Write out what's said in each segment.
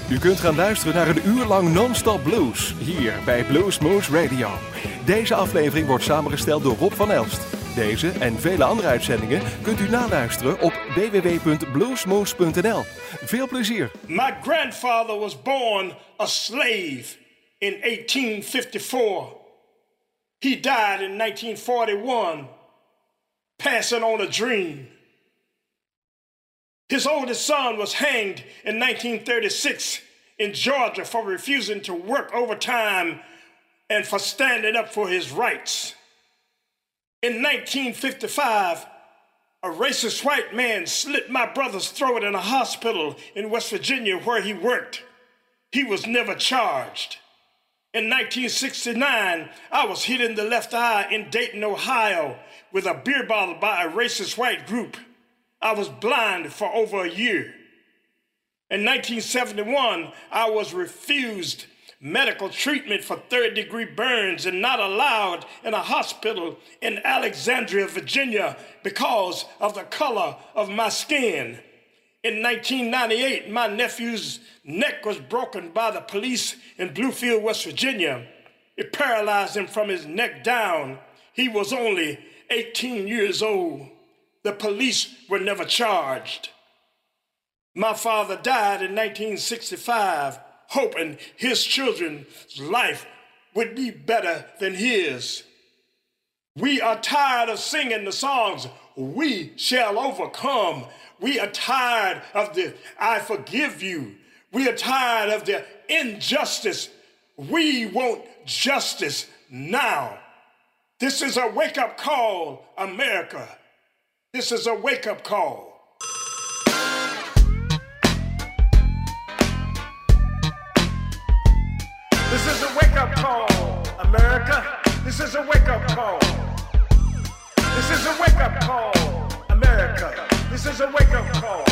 U kunt gaan luisteren naar een uur lang non-stop blues, hier bij Bluesmoose Radio. Deze aflevering wordt samengesteld door Rob van Elst. Deze en vele andere uitzendingen kunt u naluisteren op www.bluesmoose.nl. Veel plezier. My grandfather was born a slave in 1854. He died in 1941, passing on a dream. His oldest son was hanged in 1936 in Georgia for refusing to work overtime and for standing up for his rights. In 1955, a racist white man slit my brother's throat in a hospital in West Virginia where he worked. He was never charged. In 1969, I was hit in the left eye in Dayton, Ohio, with a beer bottle by a racist white group. I was blind for over a year. In 1971, I was refused medical treatment for third-degree burns and not allowed in a hospital in Alexandria, Virginia, because of the color of my skin. In 1998, my nephew's neck was broken by the police in Bluefield, West Virginia. It paralyzed him from his neck down. He was only 18 years old. The police were never charged. My father died in 1965, hoping his children's life would be better than his. We are tired of singing the songs, "We shall overcome." We are tired of the "I forgive you." We are tired of the injustice. We want justice now. This is a wake-up call, America. This is a wake-up call. This is a wake-up call, America. This is a wake-up call. This is a wake-up call, America. This is a wake-up call.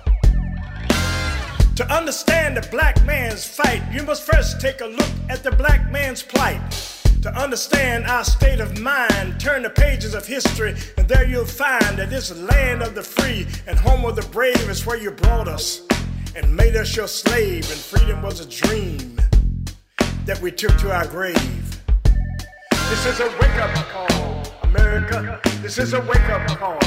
To understand the black man's fight, you must first take a look at the black man's plight. To understand our state of mind, turn the pages of history, and there you'll find that this land of the free and home of the brave is where you brought us and made us your slave, and freedom was a dream that we took to our grave. This is a wake-up call, America. This is a wake-up call.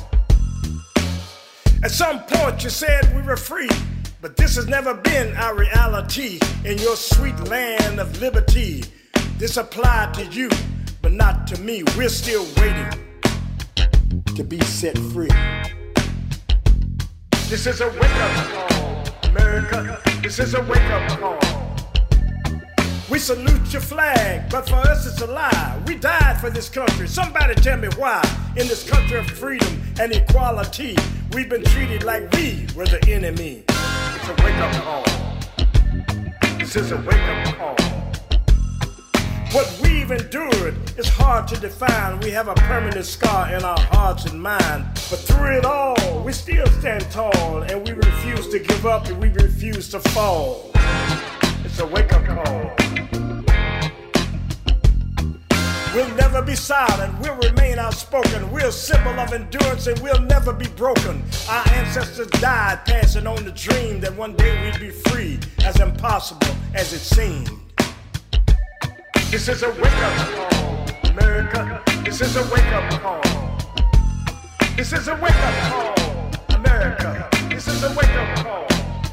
At some point you said we were free, but this has never been our reality in your sweet land of liberty. This applied to you, but not to me. We're still waiting to be set free. This is a wake-up call, America. This is a wake-up call. We salute your flag, but for us it's a lie. We died for this country. Somebody tell me why. In this country of freedom and equality, we've been treated like we were the enemy. It's a wake-up call. This is a wake-up call. What we've endured is hard to define. We have a permanent scar in our hearts and minds. But through it all, we still stand tall, and we refuse to give up, and we refuse to fall. It's a wake-up call. We'll never be silent, we'll remain outspoken. We're a symbol of endurance and we'll never be broken. Our ancestors died passing on the dream that one day we'd be free, as impossible as it seemed. This is a wake-up call, America. This is a wake-up call. This is a wake-up call, America. This is a wake-up call.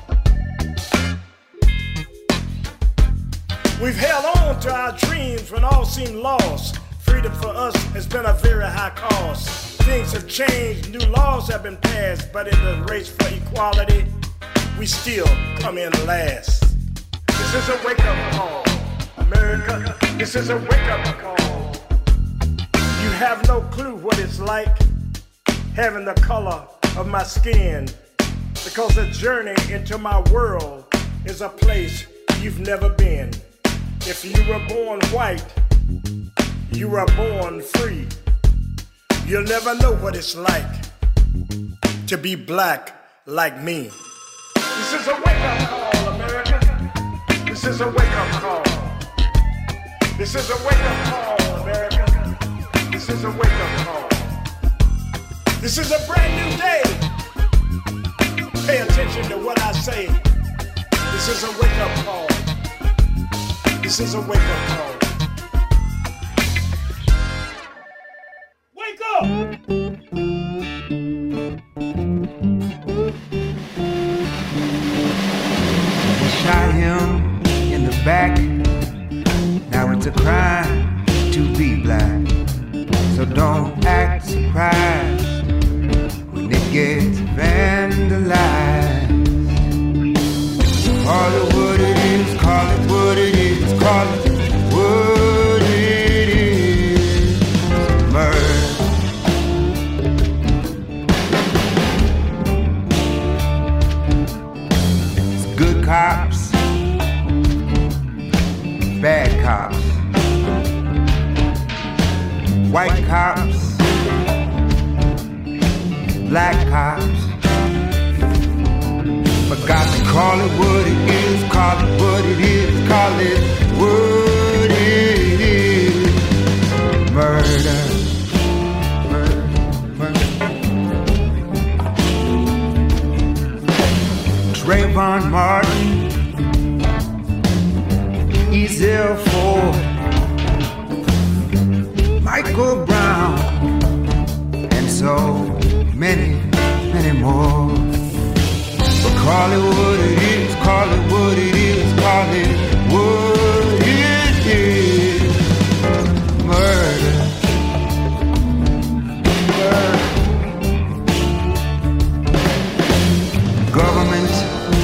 We've held on to our dreams when all seemed lost. Freedom for us has been a very high cost. Things have changed, new laws have been passed, but in the race for equality, we still come in last. This is a wake-up call, America. This is a wake-up call. You have no clue what it's like having the color of my skin, because the journey into my world is a place you've never been. If you were born white, you were born free. You'll never know what it's like to be black like me. This is a wake-up call, America. This is a wake-up call. This is a wake-up call, America. This is a wake-up call. This is a brand new day. Pay attention to what I say. This is a wake-up call. This is a wake-up call. Wake up! They shot him in the back. Now it's a crime to be black. So don't act surprised when it gets vandalized. Call it what it is, call it what it is, call it what it is. Murder. It's good cops, bad cops, white cops, black cops. Forgot to call it what it is, call it what it is, call it what it is. Murder. Murder. Murder. Trayvon Martin, Ezell Ford, Michael Brown, and so many, many more. But call it what it is, call it what it is, call it what it is. Murder. Murder. Government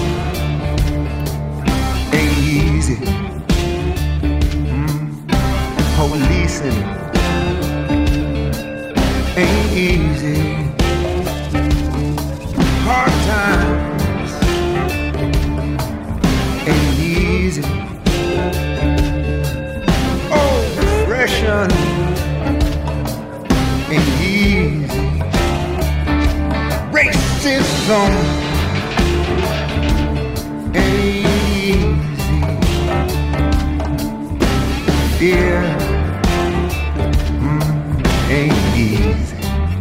ain't easy. Policing ain't easy. Hard times ain't easy. Oppression ain't easy. Racism ain't easy. Fear ain't easy.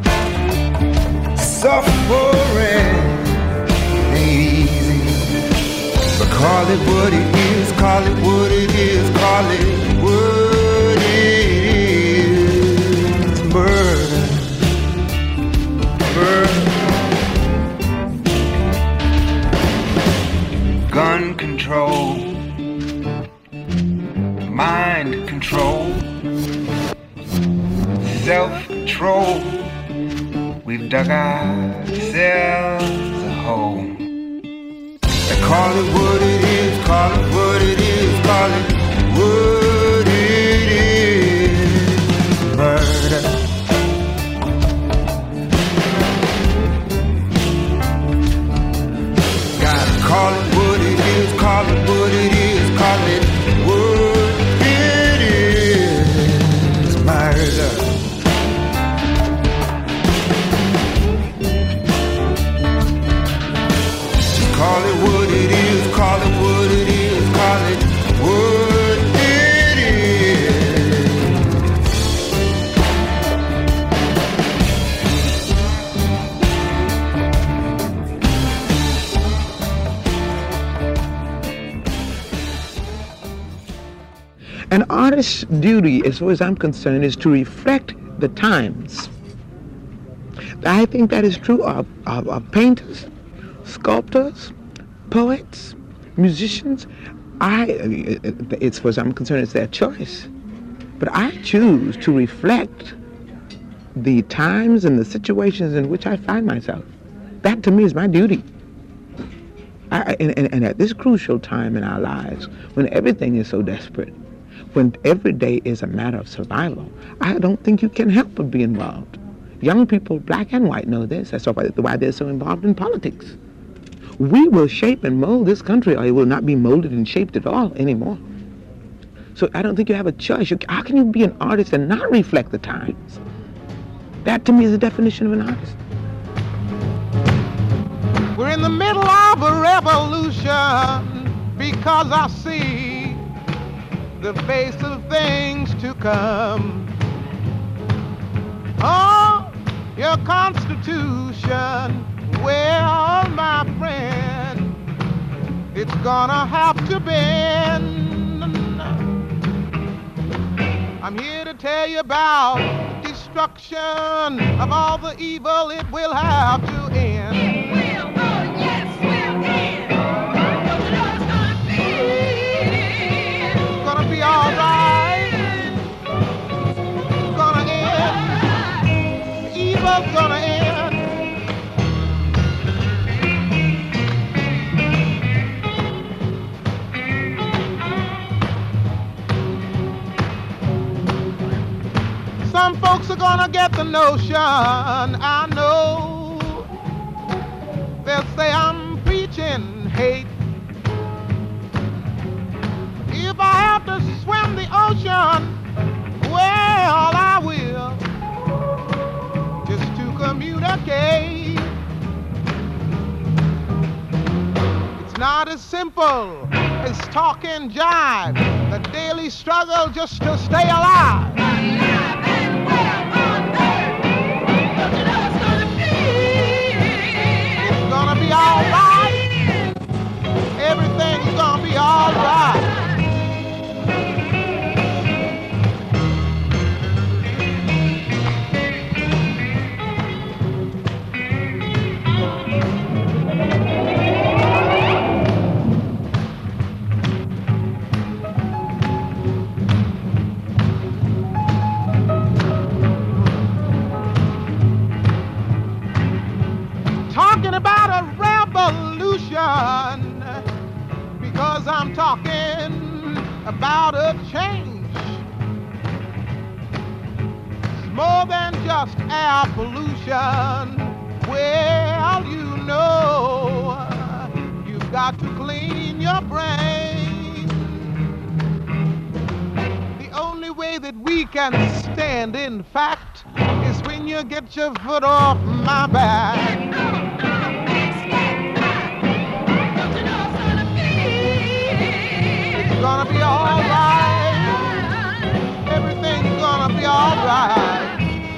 Suffering ain't easy. But call it what it is, call it what it is, call it what it is. Murder. Murder. Gun control, mind control, self-control. We've dug ourselves a hole. They call it what it is, call it what it is, call it what it is. Murder. Gotta call it what it is, call it what it is, call it what it is. Murder. Call it what it is, call it what it is, call it what it is. An artist's duty, as far as I'm concerned, is to reflect the times. I think that is true of painters, sculptors, poets, musicians. As far as I'm concerned, it's their choice. But I choose to reflect the times and the situations in which I find myself. That, to me, is my duty. And at this crucial time in our lives, when everything is so desperate, when every day is a matter of survival, I don't think you can help but be involved. Young people, black and white, know this. That's why they're so involved in politics. We will shape and mold this country, or it will not be molded and shaped at all anymore. So I don't think you have a choice. How can you be an artist and not reflect the times? That, to me, is the definition of an artist. We're in the middle of a revolution because I see the face of things to come. Oh, your Constitution, well, my friend, it's gonna have to bend. I'm here to tell you about destruction of all the evil. It will have to end. It will, oh yes, will end. Don't you know it's gonna be all right. It's gonna end. The evil's gonna end. Some folks are gonna get the notion, I know. They'll say I'm preaching hate. If I have to swim the ocean, well, I will, just to communicate. It's not as simple as talk and jive, the daily struggle just to stay alive. Gonna be all right. Everything's gonna be all right. Talking about a revolution, because I'm talking about a change. It's more than just air pollution. Well, you know, you've got to clean your brain. The only way that we can stand, in fact, is when you get your foot off my back. It's gonna be all right. Everything's gonna be all right.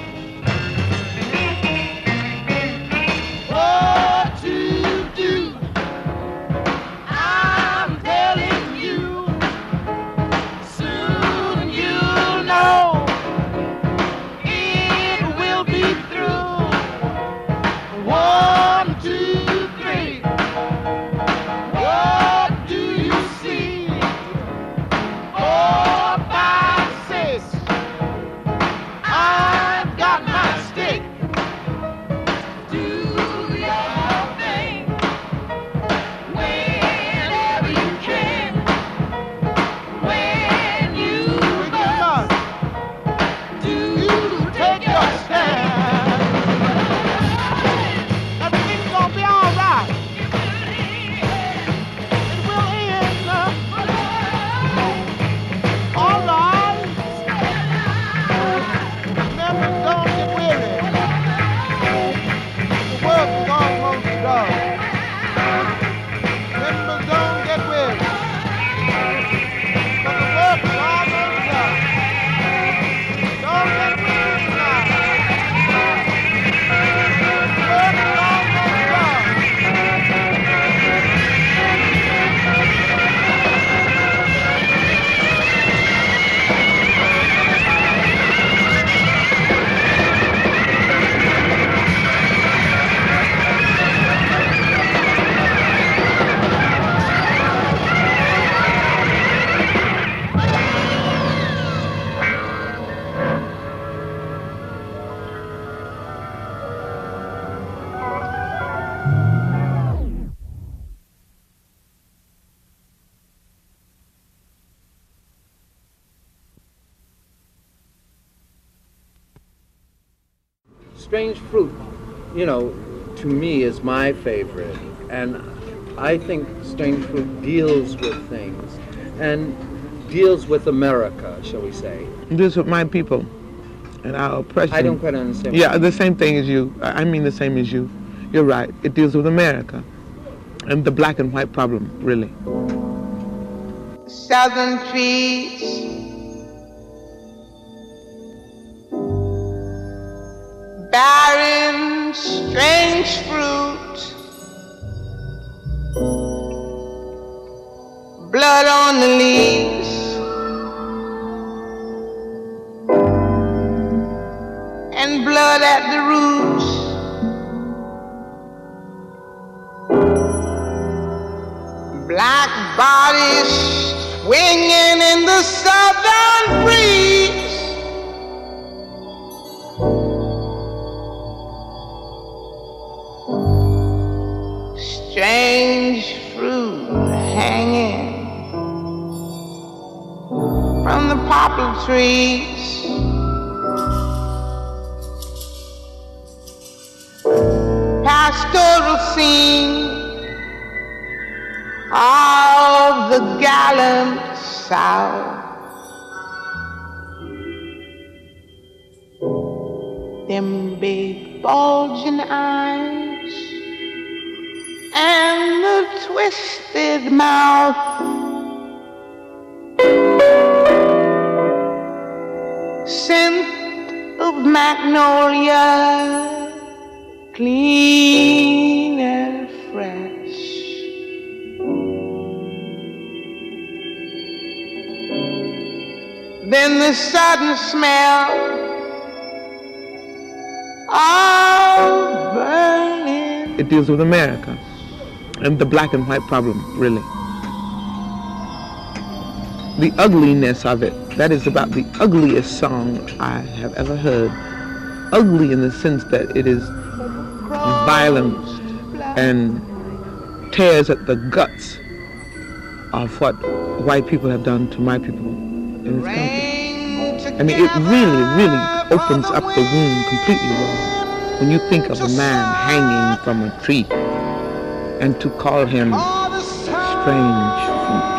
What to do? I'm telling you. Soon you'll know. It will be through. 1, 2, 3. What do you see? 4, 5, 6. I've got my stick. Do your thing whenever you can. When you must, do take your stand. Everything's gonna be all right. It will end. All right. Remember, don't get weary. The work is almost done. Remember, don't get weary. But the work is almost done. Don't get weary now. The work is almost done. Strange Fruit, you know, to me is my favorite, and I think Strange Fruit deals with things, and deals with America, shall we say. Deals with my people and our oppression. I don't quite understand. Yeah, the same thing as you. I mean the same as you. You're right. It deals with America and the black and white problem, really. Southern trees, barren, strange fruit, body swinging in the southern breeze. Strange fruit hanging from the poplar trees. Pastoral scene of the gallant South. Them big bulging eyes and the twisted mouth. Scent of magnolia, clean and fresh. Then the sudden smell of burning. It deals with America and the black and white problem, really. The ugliness of it, that is about the ugliest song I have ever heard. Ugly in the sense that it is violent and tears at the guts of what white people have done to my people in this country. I mean, it really, really opens up the wound completely wrong when you think of a man hanging from a tree and to call him strange fruit.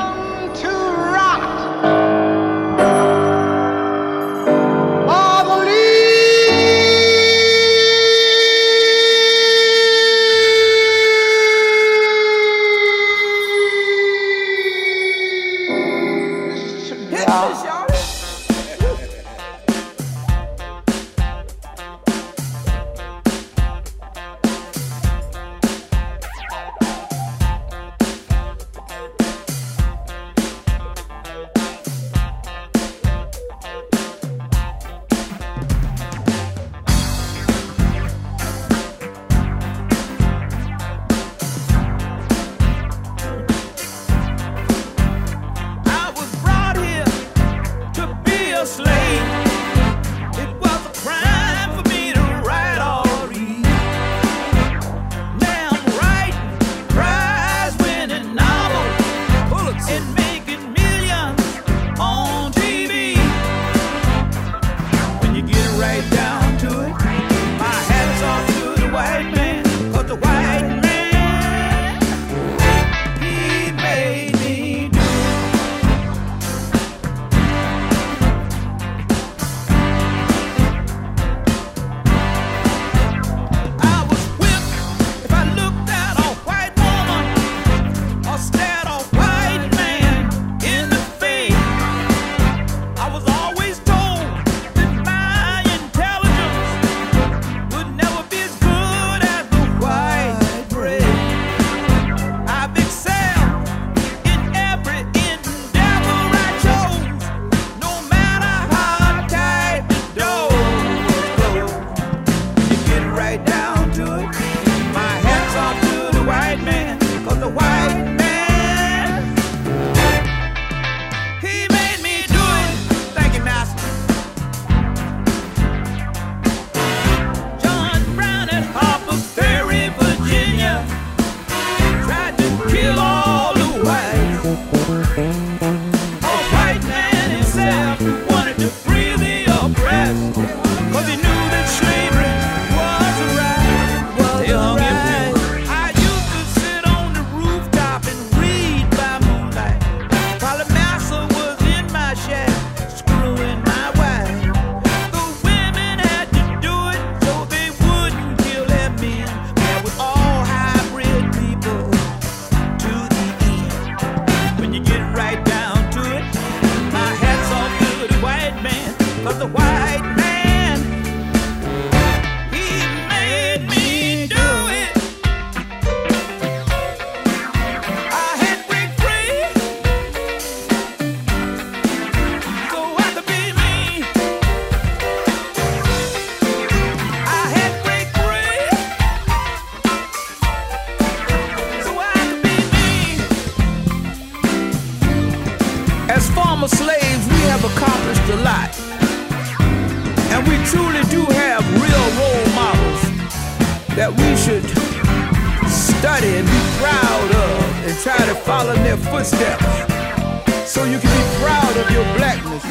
former slaves, we have accomplished a lot. And we truly do have real role models that we should study and be proud of and try to follow in their footsteps so you can be proud of your blackness.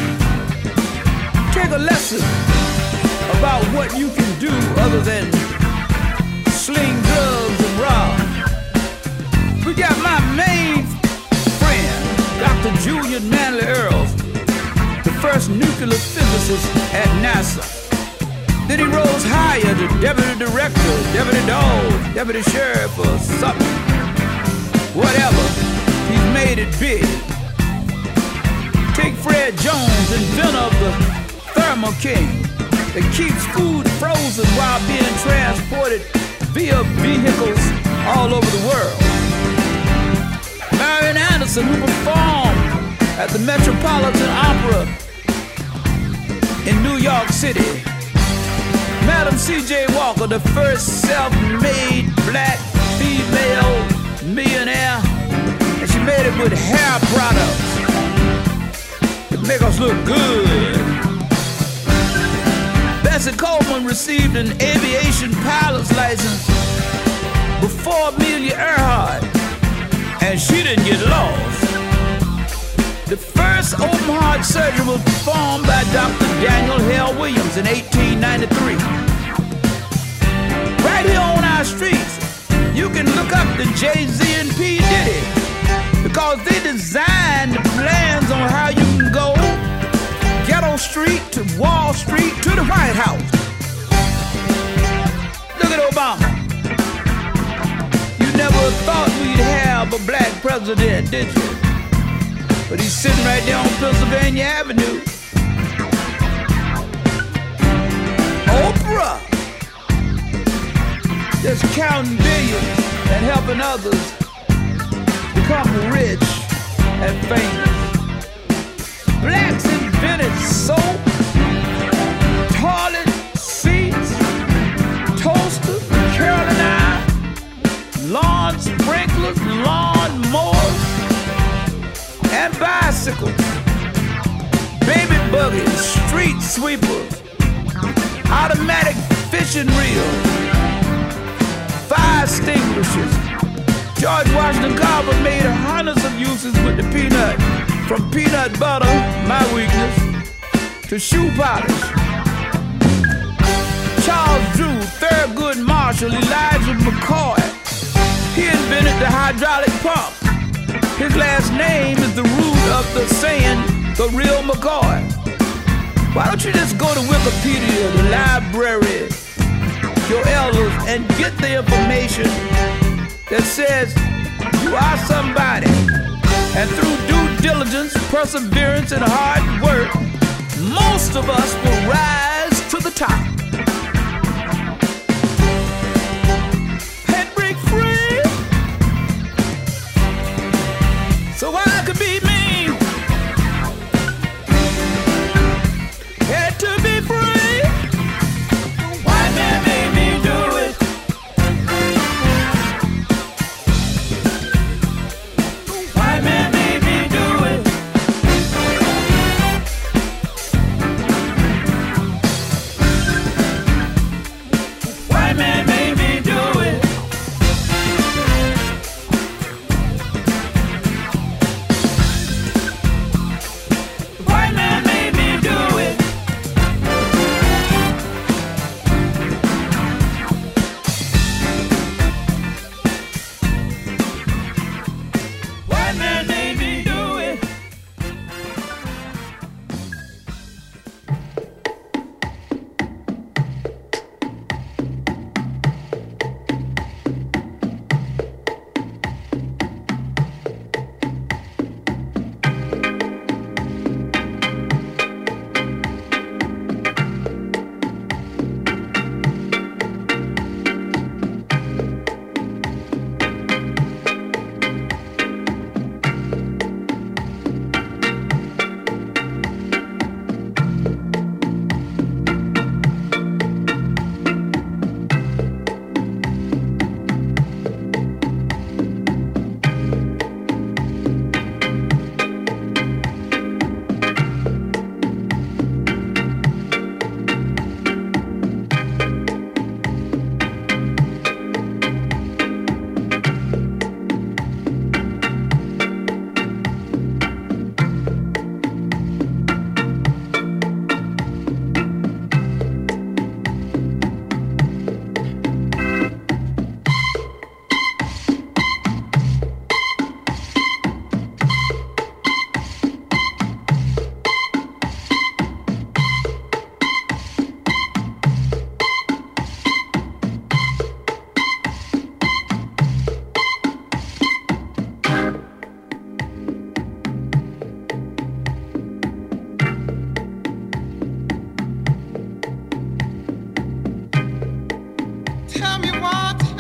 Take a lesson about what you can do other than sling drugs and rob. We got my main friend, Dr. Julian Manley Earls, the first nuclear physicist at NASA. Then he rose higher to deputy director, deputy dog, deputy sheriff or something. Whatever, he's made it big. Take Fred Jones, inventor of the Thermo King, that keeps food frozen while being transported via vehicles all over the world. Marian Anderson, who performed at the Metropolitan Opera in New York City. Madam C.J. Walker, the first self-made black female millionaire, and she made it with hair products that make us look good. Bessie Coleman received an aviation pilot's license before Amelia Earhart, and she didn't get lost. The first open heart surgery was performed by Dr. Daniel Hale Williams in 1893. Right here on our streets, you can look up the Jay-Z and P. Diddy, because they designed the plans on how you can go Ghetto Street to Wall Street to the White House. Look at Obama. You never thought we'd have a black president, did you? But he's sitting right there on Pennsylvania Avenue. Oprah, just counting billions and helping others become rich and famous. Blacks invented soap, toilet seats, toasters, curling iron, lawn sprinklers, lawn mowers, and bicycles, baby buggies, street sweepers, automatic fishing reels, fire extinguishers. George Washington Carver made hundreds of uses with the peanut, from peanut butter, my weakness, to shoe polish. Charles Drew, Thurgood Marshall, Elijah McCoy, he invented the hydraulic pump. His last name is the root of the saying, the real McCoy. Why don't you just go to Wikipedia, the library, your elders, and get the information that says you are somebody. And through due diligence, perseverance, and hard work, most of us will rise to the top. And break free. So I could be me. Had to be free. White man made me do it. White man made me do it.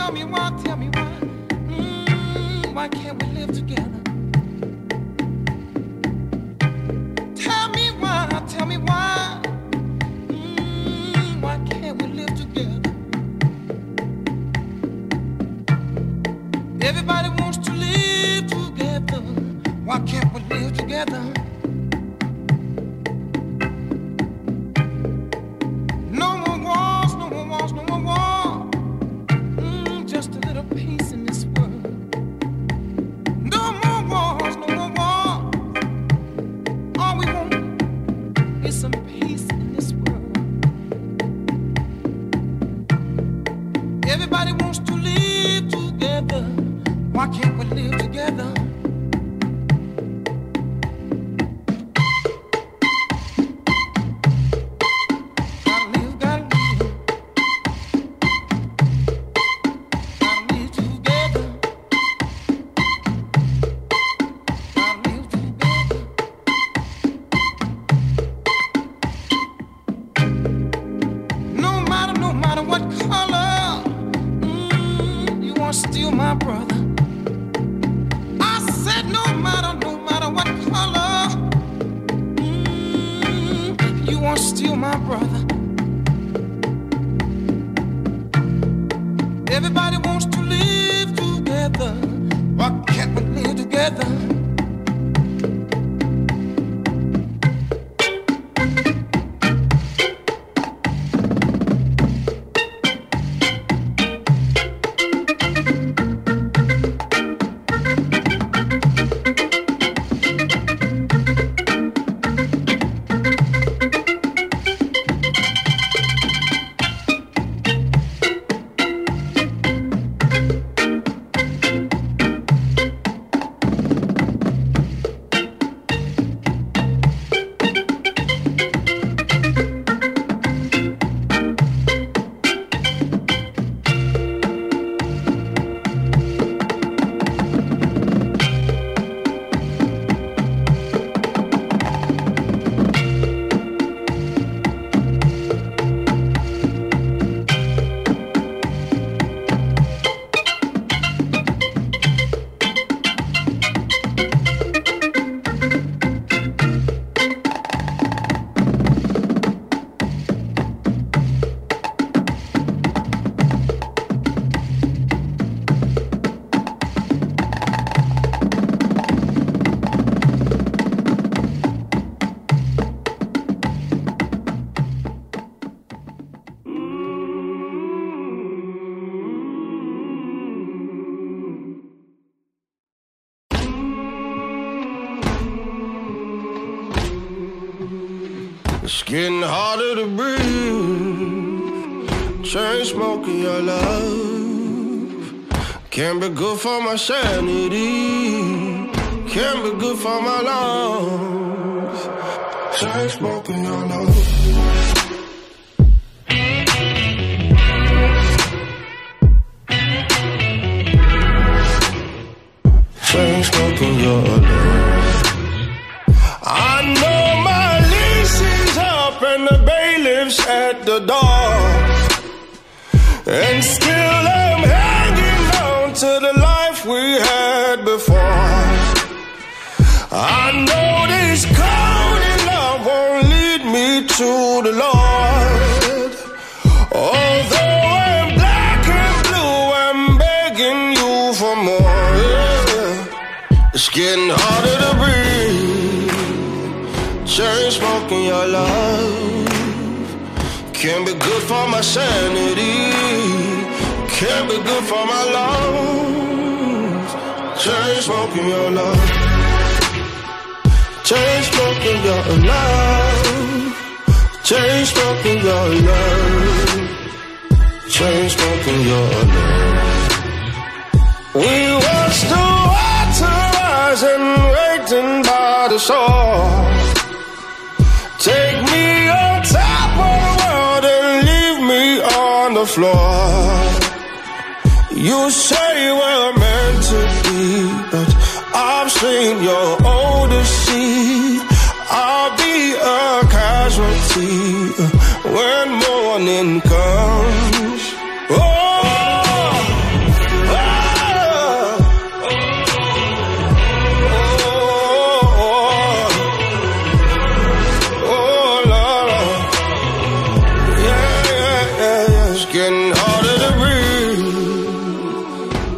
tell me why, why can't we live together? Tell me why, why can't we live together? Everybody wants to live together. Why can't we live together? No more wars, no more wars, no more war. Just a little peace in this world. No more wars, no more war. All we want is some peace in this world. Everybody wants to live together. Why can't we live together? It's getting harder to breathe. Chain smoking your love can't be good for my sanity, can't be good for my lungs. Chain smoking your love. Chain smoking your love. I know my lease is up and the bailiff's at the door, and still I'm hanging on to the life we had before. I know this cold in love won't lead me to the Lord. Although I'm black and blue, I'm begging you for more. Yeah. It's getting harder to breathe. Chain smoking your love can't be good for my sanity, can't be good for my lungs. Chain smoking your love. Chain smoking your love. Chain smoking your love. Chain smoking your love. We watched the water rising, waiting by the shore. Take me on top of the world and leave me on the floor. You say we're meant to be, but I've seen your Odyssey. I'll be a casualty when morning comes. Oh,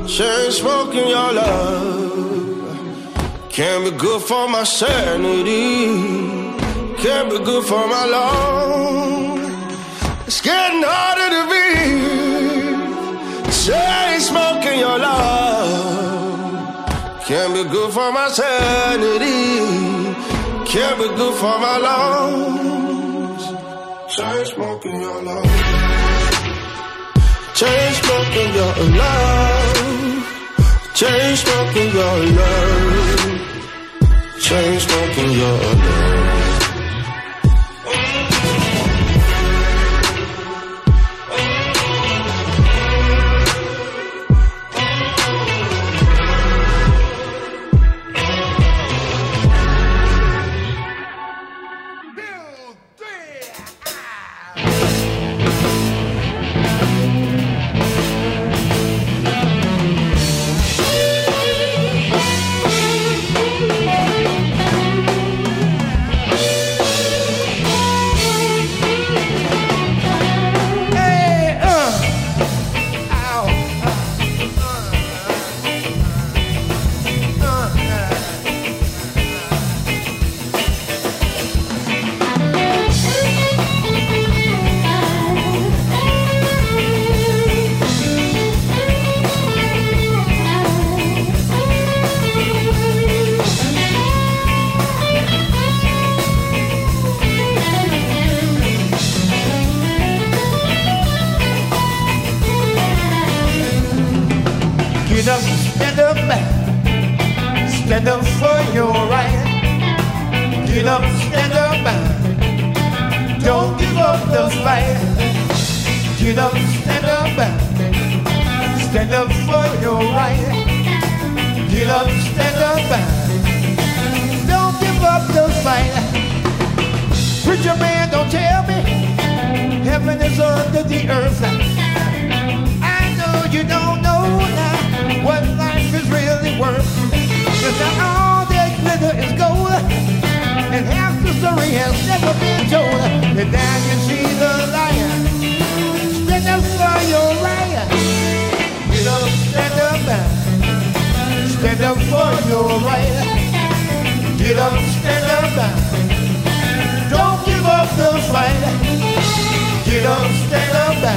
chain smoking your love can't be good for my sanity, can't be good for my lungs. It's getting harder to breathe. Chain smoking your love can't be good for my sanity, can't be good for my lungs. Chain smoking your love, chain smoking your love, chain smoking your love, chain smoking your love. Stand up for your right. Get up, stand up, don't give up the fight. Get up, stand up for your right. Get up, stand up, don't give up the fight. Preacher man, don't tell me heaven is under the earth. I know you don't know now what life is really worth. Cause now all that glitter is gold, and half the story has never been told. And now you see the lion. Stand up for your right. Get up, stand up for your right. Get up, stand up, don't give up the fight. Get up, stand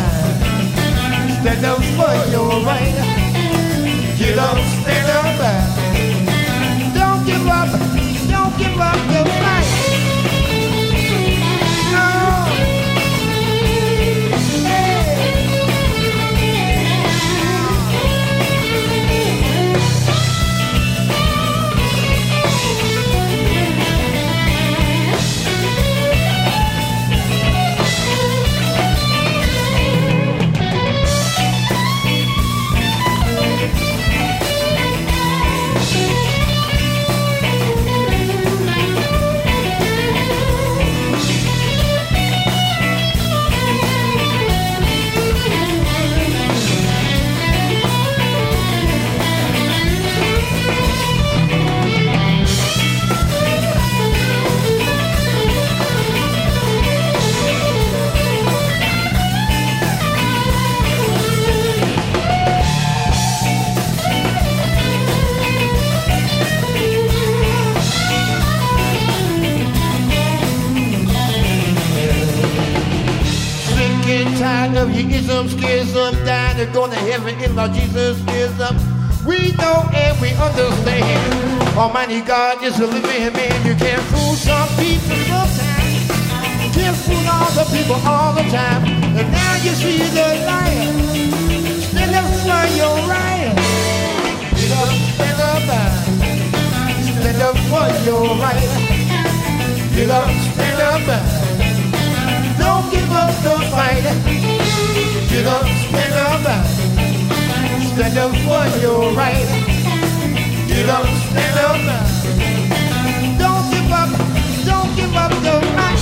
up for your right. Get up, stand up, don't give up the fight. No. Tired of your ism, schism, dying and going to heaven in Lord Jesus is up. We know and we understand. Almighty God is a living man. You can't fool some people sometimes. You can't fool all the people all the time. And now you see the lion. Stand up for your right. Get up, stand up for your right. Get up, stand up. Don't give up the fight. Get up, stand up for your right. Get up, stand up. Don't give up the fight.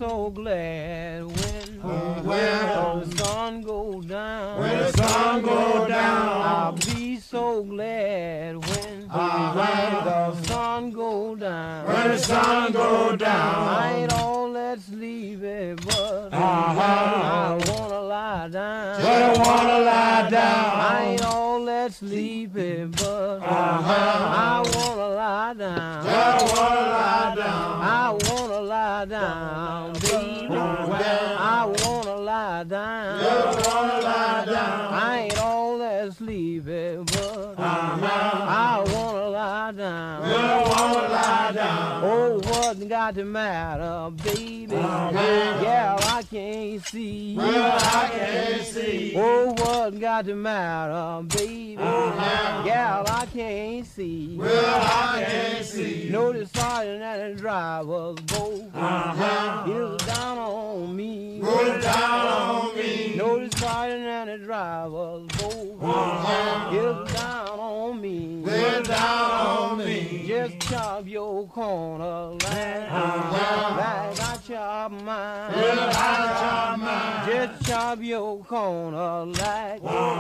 so glad when the sun go down. When the sun go down. I'll be so glad when the sun go down. When the sun go down. I ain't all that sleepy, but I wanna lie down. But I wanna lie down. I ain't all that sleepy, but I wanna lie down. But I wanna lie down. I wanna lie down, baby. I wanna lie down. But I wanna lie down. I ain't all that sleepy, but I wanna lie down. But I wanna lie down. Oh, what got the matter, baby? Yeah, I can't see. Well, I can't see. Oh, what got the matter, baby? Yeah, I can't see. Well, I can't see. No, the sergeant and the driver's both is down on me. Put it down on me. No, the sergeant and the driver's both is down on me. Put it down on me. Just chop your corner like I chop mine. I chop mine. Just chop your corner like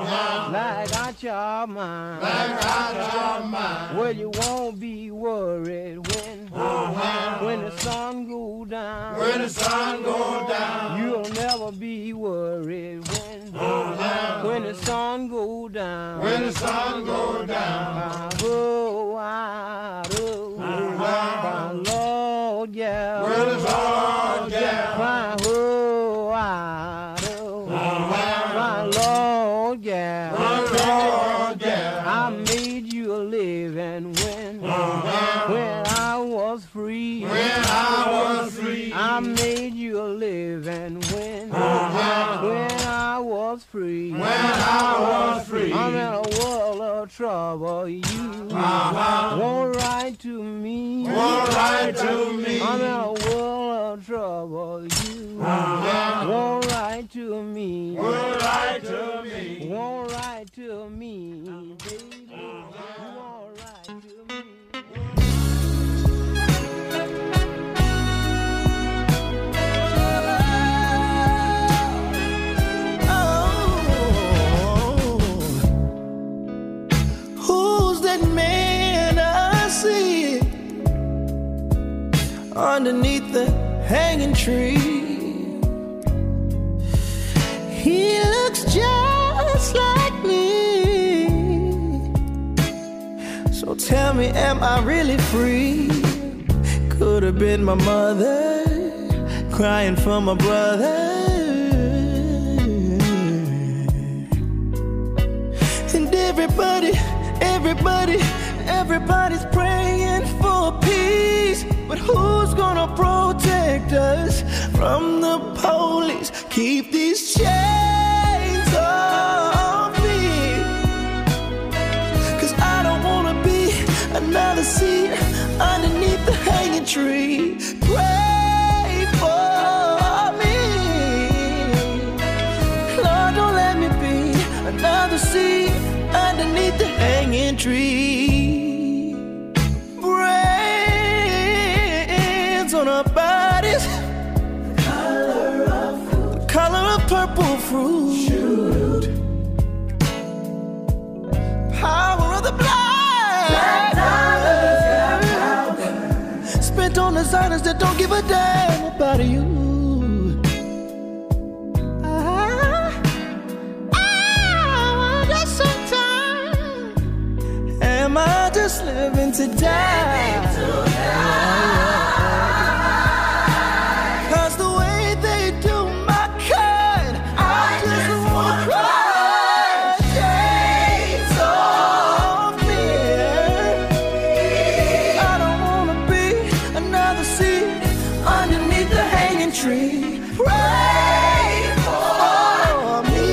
I chop mine. Like I chop mine. Well, you won't be worried when the sun go down. When the sun go down. You'll never be worried when the sun go down. When the sun go down. Oh, I do. My Lord, yeah. When the sun down. My oh, I do. My Lord, yeah. Lord, yeah. I made you a living when I was free. When I was free. I made you a living when I was free. When I was free. I'm in a world of trouble. You won't write to me. Won't write to me. I'm in a world of trouble. You won't write to me. Won't write to me. Won't write to me, baby. You won't write to me. Who's that man I see underneath the hanging tree? He looks just like me. So tell me, am I really free? Could have been my mother crying for my brother. And everybody's praying for peace. But who's gonna protect us from the police? Keep these chains off me. 'Cause I don't wanna be another seed underneath the hanging tree. Pray for me. Lord, don't let me be another seed underneath the hanging tree. Brains on our bodies, the color of purple fruit. Power of the blind, spent on designers that don't give a damn about you. Am I just living to die? 'Cause the way they do my kind, I just wanna cry. Shades off me. I don't wanna be another seed underneath the hanging tree. Pray for me.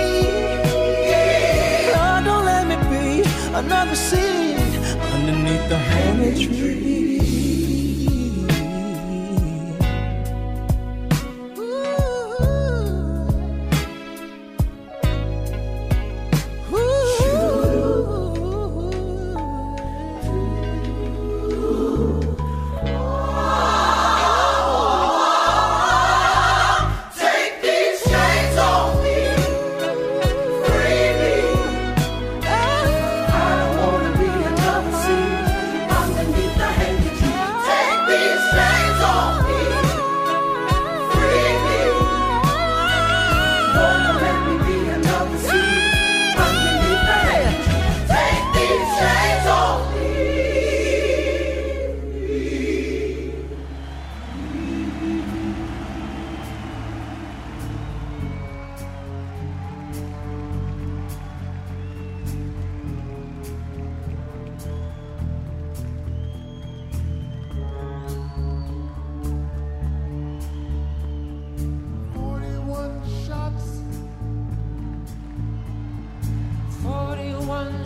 Lord, don't let me be another seed underneath the hanging tree.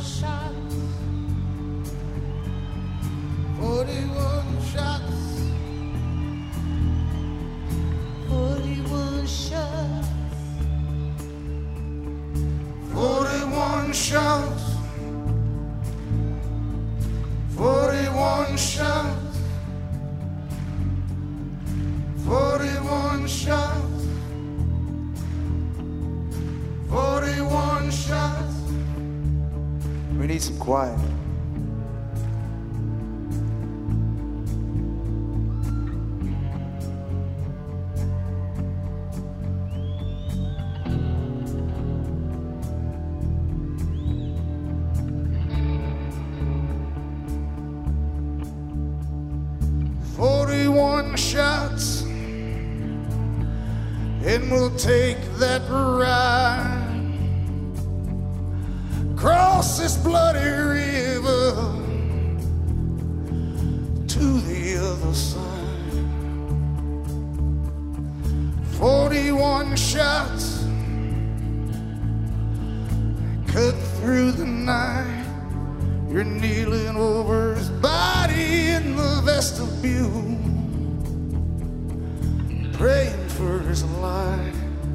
shots. 41 shots. 41 shots. 41 shots. 41 shots. 41 shots. 41 shots. We need some quiet. Shots, and we'll take that ride across this bloody river to the other side. 41 shots cut through the night. You're kneeling over his body in the vestibule, praying for his life.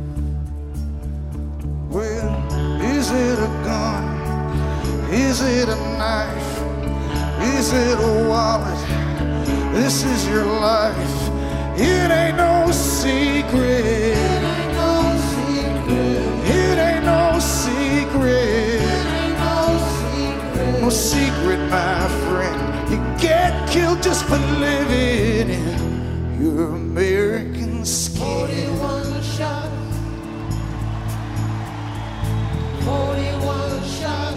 Well, is it a gun? Is it a knife? Is it a wallet? This is your life. It ain't no secret. It ain't no secret. It ain't no secret. It ain't no secret. No secret, my friend. You get killed just for living in your American skin. 41 shots. 41 shots.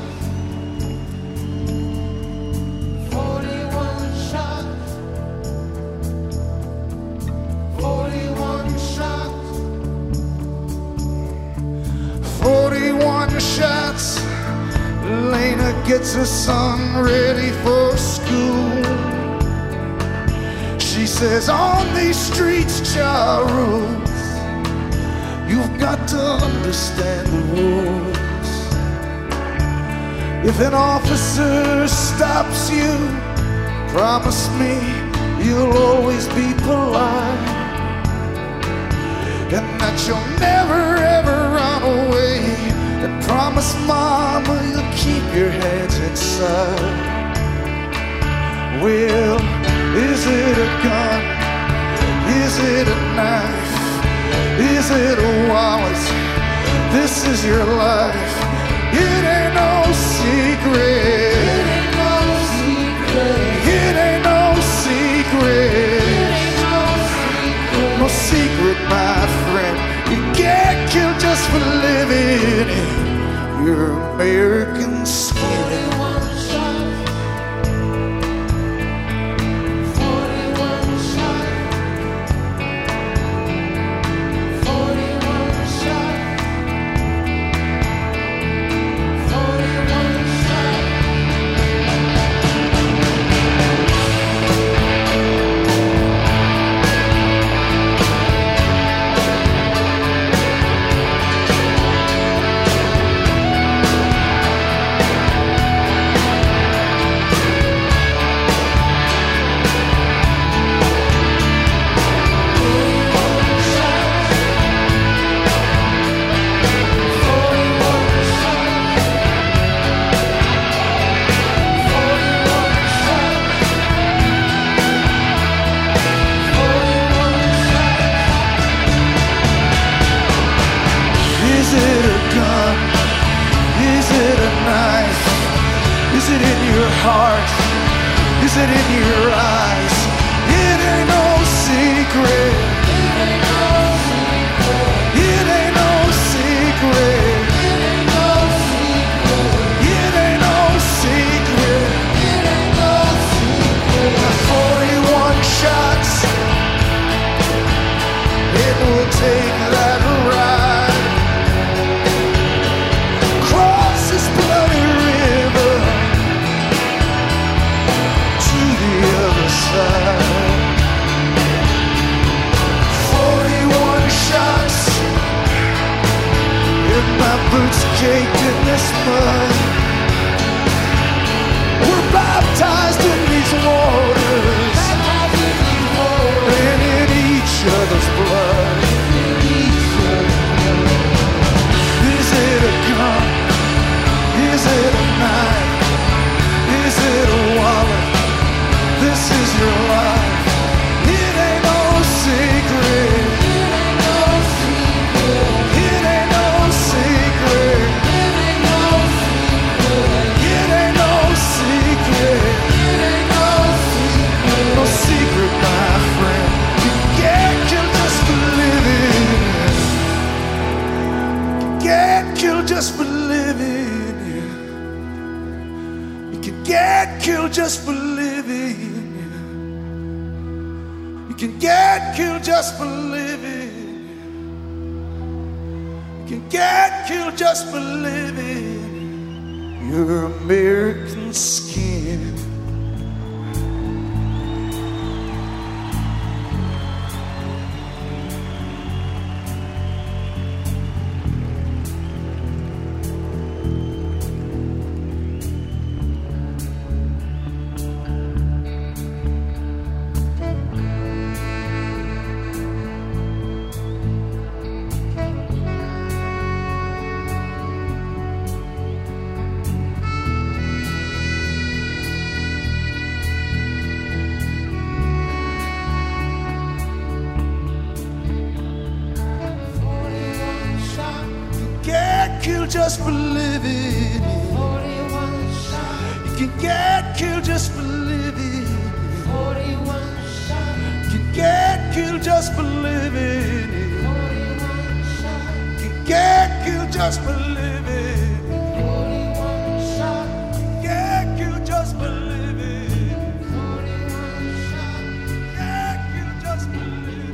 41 shots. 41 shots. 41 shots. Lena gets her son ready for school. She says, on these streets, Charles, you've got to understand the rules. If an officer stops you, promise me you'll always be polite, and that you'll never ever run away, and promise mama you'll keep your hands inside. Well, is it a gun? Is it a knife? Is it a wallet? This is your life. It ain't no secret. It ain't no secret. It ain't no secret. It ain't no secret. No secret, my friend. You get killed just for living in your American skin. 41 shots. 41 shots. 41 shots. 41 shots. Is it a gun? Is it a knife? Is it in your heart? Is it in your eyes? It ain't no secret. It ain't no secret. It ain't no secret. It ain't no secret. It ain't no secret. It ain't no secret. 41 shots. It will take that ride. Cross this bloody river to the other side. 41 shots, and my boots caked in this mud. baptized in these waters, and in each other's blood. Is it a gun? Is it a knife? Is it a wallet? This is your life. It ain't no secret. It ain't no secret. It ain't no secret. No secret, my friend. You can't kill just for living. You can't kill just for living. You can get killed just for living. You can get killed just for living. You can get killed just for living. Your American skin. Just for living. You can get killed just for living. You can get killed just for living. You can get killed just for living. Get killed just for living. Get killed just for living.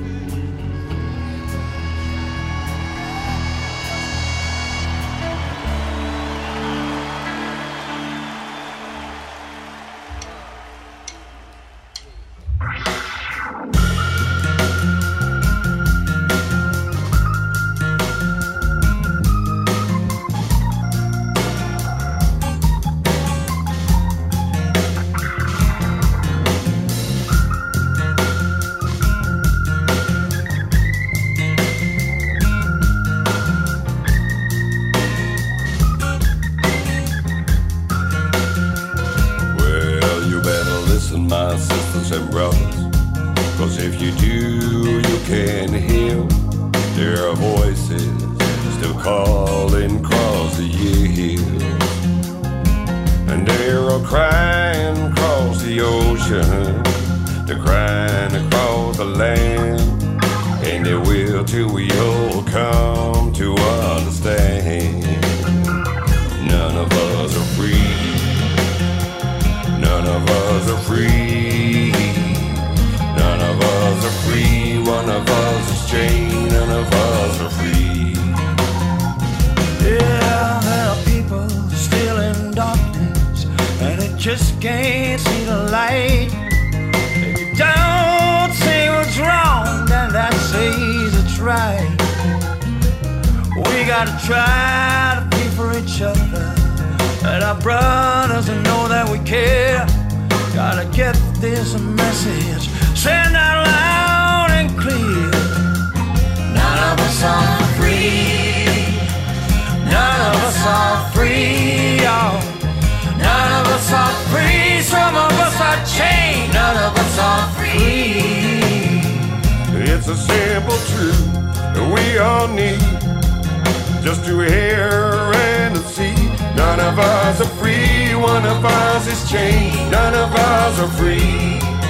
My sisters and brothers, 'cause if you do, you can hear their voices still calling across the years. And they're crying across the ocean, they're crying across the land, and they will till we all come to understand. None of us are free. None of us are free. None of us are free. One of us is chained. None of us are free. Yeah, there are people still in darkness, and they just can't see the light. If you don't say what's wrong, then that says it's right. We gotta try to be for each other, and our brothers and know that we care. Gotta get this message sent out loud and clear. None of us are free. None of us are free. Oh. None of us are free. Some of us are chained. None of us are free. It's a simple truth that we all need, just to hear and to see. None of us are free, one of us is chained. None of us are free.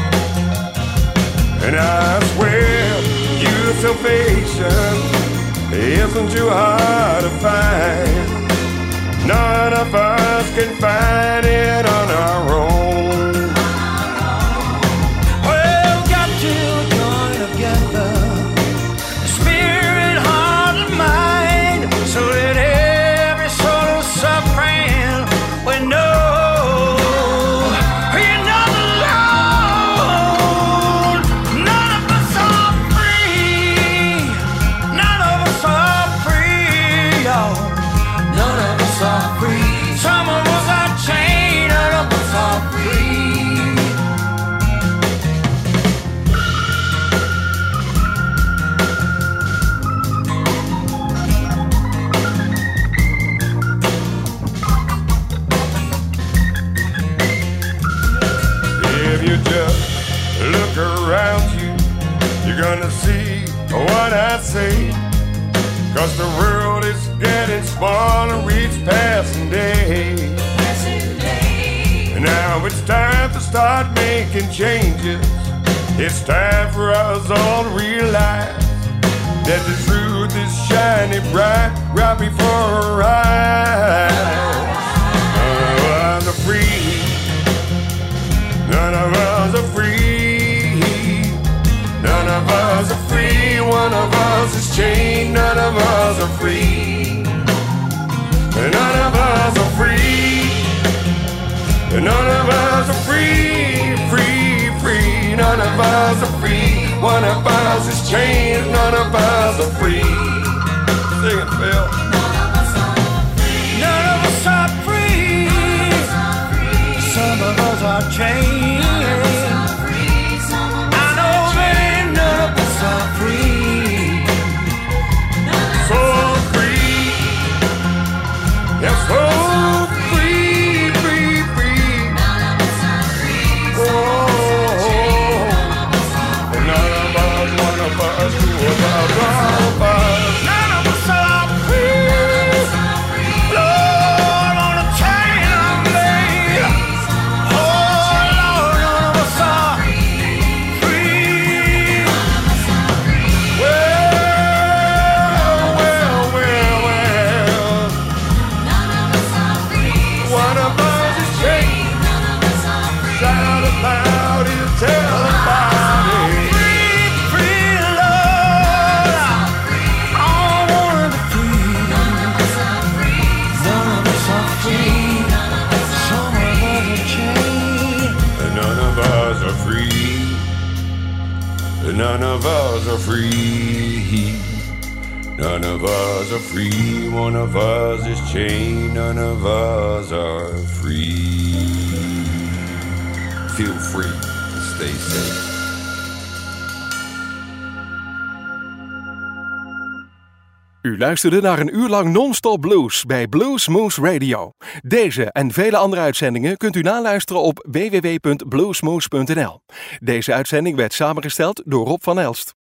And I swear your salvation isn't too hard to find. None of us can find it on our own. Well, got to join together, spirit, heart, and mind, so that every soul is suffering we know we're not alone. None of us are free. None of us are free. Oh. None of us are free. Some of us are chained. see what I say, 'cause the world is getting smaller each passing day. Now it's time to start making changes. It's time for us all to realize that the truth is shining bright right before our eyes. None of us are free. None of us are free. None of us are free. One of us is chained. None of us are free. None of us are free. None of us are free, free, free. None of us are free. One of us is chained. None of us are free. Sing it, Phil. None of us are free. Some of us are chained. I know that none of us are free. So free. Yes, so free, free, free. Oh, none of us, one of us, two of us, all of us. None of us are free. Lord, on a chain I'm laid. Oh, Lord, none of us are free. Well, well, well, well. One of us is chained. Shout it loud and tell about it. Free, free, Lord. I wanna be free. None of us are free. Some of us are chained. None of us are free. None of us are free. None of us are free. One of us is chained. None of us are free. Feel free and stay safe. U luisterde naar een uur lang non-stop blues bij Blues Moose Radio. Deze en vele andere uitzendingen kunt u naluisteren op www.bluesmoose.nl. Deze uitzending werd samengesteld door Rob van Elst.